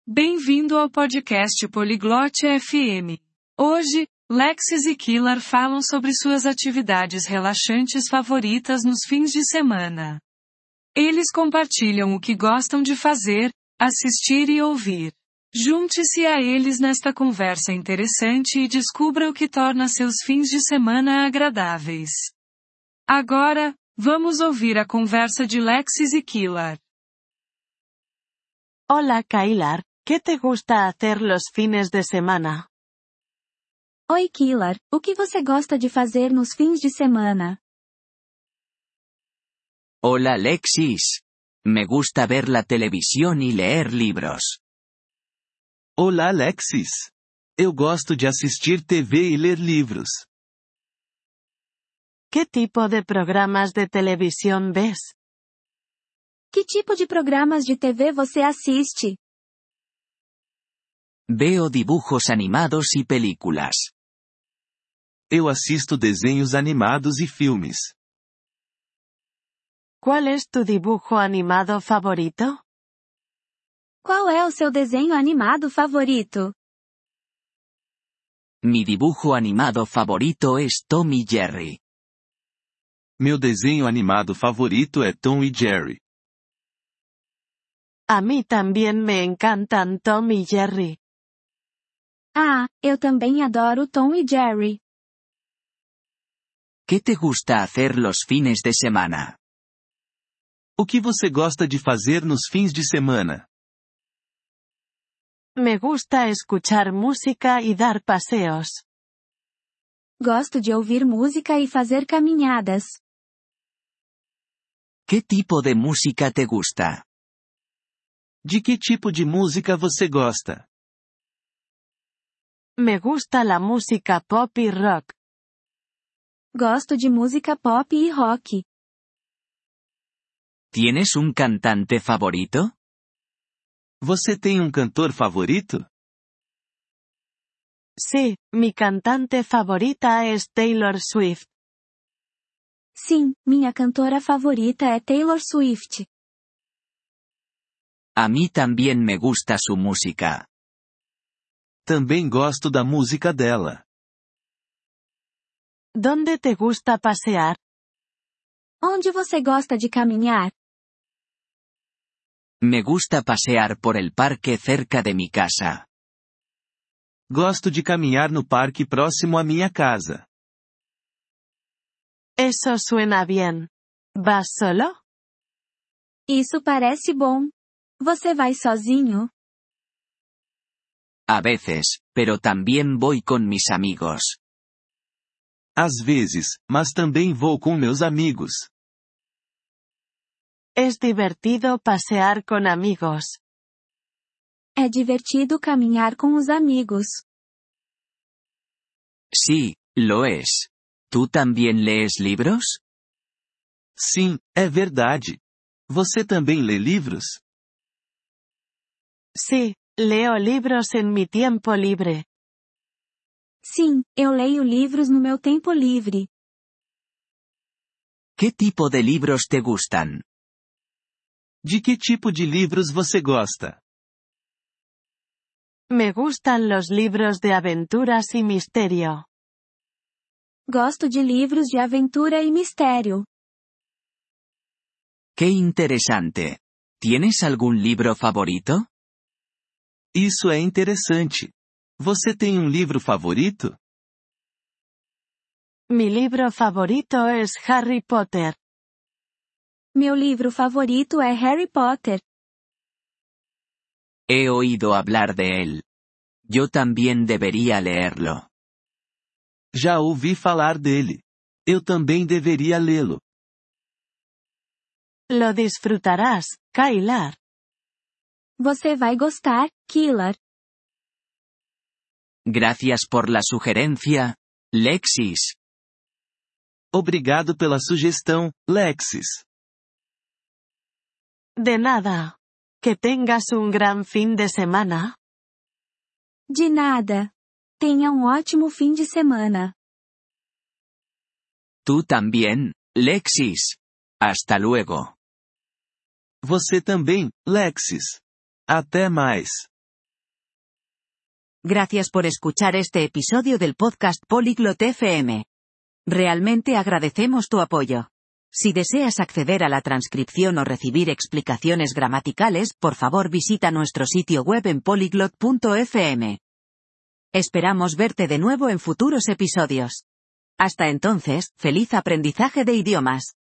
Bem-vindo ao podcast Poliglote FM. Hoje, Lexis e Killer falam sobre suas atividades relaxantes favoritas nos fins de semana. Eles compartilham o que gostam de fazer, assistir e ouvir. Junte-se a eles nesta conversa interessante e descubra o que torna seus fins de semana agradáveis. Agora, vamos ouvir a conversa de Lexis e Killer. Hola Kaylar, ¿qué te gusta hacer los fines de semana? Oi Killer, o que você gosta de fazer nos fins de semana? Hola Lexis. Me gusta ver la televisión y leer libros. Olá Alexis. Eu gosto de assistir TV e ler livros. ¿Qué tipo de programas de televisión ves? Que tipo de programas de TV você assiste? Veo dibujos animados y películas. Eu assisto desenhos animados e filmes. ¿Cuál es tu dibujo animado favorito? Qual é o seu desenho animado favorito? Mi dibujo animado favorito es Tom y Jerry. Meu desenho animado favorito é Tom e Jerry. A mí también me encantan Tom y Jerry. Ah, eu também adoro Tom e Jerry. ¿Qué te gusta hacer los fines de semana? O que você gosta de fazer nos fins de semana? Me gusta escuchar música y dar paseos. Gosto de ouvir música e fazer caminhadas. ¿Qué tipo de música te gusta? De que tipo de música você gosta? Me gusta la música pop y rock. Gosto de música pop e rock. ¿Tienes un cantante favorito? Você tem um cantor favorito? Sí, mi cantante favorita es Taylor Swift. Sim, minha cantora favorita é Taylor Swift. A mí también me gusta su música. Também gosto da música dela. ¿Dónde te gusta pasear? Onde você gosta de caminhar? Me gusta pasear por el parque cerca de mi casa. Gosto de caminhar no parque próximo à minha casa. Eso suena bien. ¿Vas solo? Isso parece bom. Você vai sozinho? A veces, pero también voy con mis amigos. Às vezes, mas também vou com meus amigos. Es divertido pasear con amigos. É divertido caminhar com os amigos. Sí, lo es. ¿Tú también lees libros? Sim, é verdade. Você também lê livros? Sí, leo libros en mi tiempo libre. Sim, eu leio livros no meu tempo livre. ¿Qué tipo de libros te gustan? De que tipo de livros você gosta? Me gustan los libros de aventuras y misterio. Gosto de livros de aventura e mistério. ¡Qué interesante! ¿Tienes algún libro favorito? Isso é interessante. Você tem um livro favorito? Mi libro favorito es Harry Potter. Meu livro favorito é Harry Potter. He oído hablar de él. Yo también debería leerlo. Já ouvi falar dele. Eu também deveria lê-lo. Lo disfrutarás, Kaylar. Você vai gostar, Killer. Gracias por la sugerencia, Lexis. Obrigado pela sugestão, Lexis. De nada. Que tengas un gran fin de semana. De nada. Tenha ótimo fim de semana. Tú también, Lexis. Hasta luego. Você também, Lexis. Até mais. Gracias por escuchar este episodio del podcast Polyglot FM. Realmente agradecemos tu apoyo. Si deseas acceder a la transcripción o recibir explicaciones gramaticales, por favor visita nuestro sitio web en polyglot.fm. Esperamos verte de nuevo en futuros episodios. Hasta entonces, feliz aprendizaje de idiomas.